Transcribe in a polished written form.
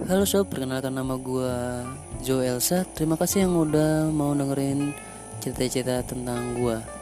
Halo sob, perkenalkan nama gue Joe Elsa. Terima kasih yang udah mau dengerin cerita-cerita tentang gue.